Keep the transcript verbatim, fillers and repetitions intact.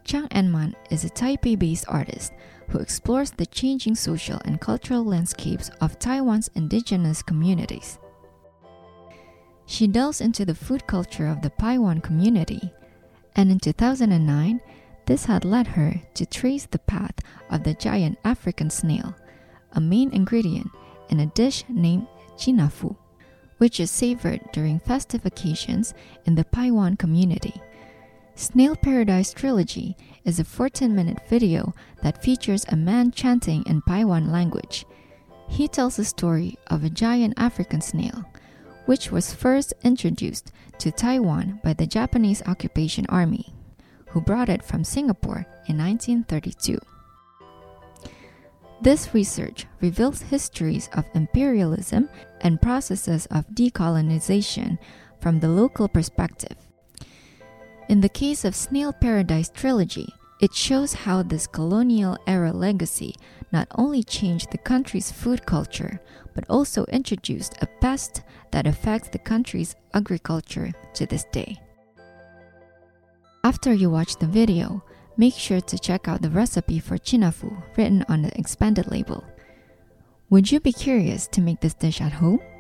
Chang En-man is a Taipei-based artist who explores the changing social and cultural landscapes of Taiwan's indigenous communities. She delves into the food culture of the Paiwan community, and in two thousand nine, this had led her to trace the path of the giant African snail, a main ingredient in a dish named chinafu, which is savored during festive occasions in the Paiwan community. Snail Paradise Trilogy is a fourteen-minute video that features a man chanting in Paiwan language. He tells the story of a giant African snail, which was first introduced to Taiwan by the Japanese Occupation Army, who brought it from Singapore in nineteen thirty-two. This research reveals histories of imperialism and processes of decolonization from the local perspective. In the case of Snail Paradise Trilogy, it shows how this colonial-era legacy not only changed the country's food culture, but also introduced a pest that affects the country's agriculture to this day. After you watch the video, make sure to check out the recipe for chinafu written on the expanded label. Would you be curious to make this dish at home?